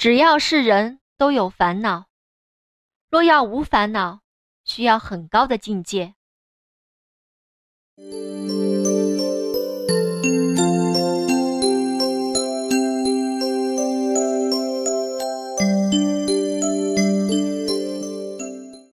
只要是人都有烦恼，若要无烦恼，需要很高的境界。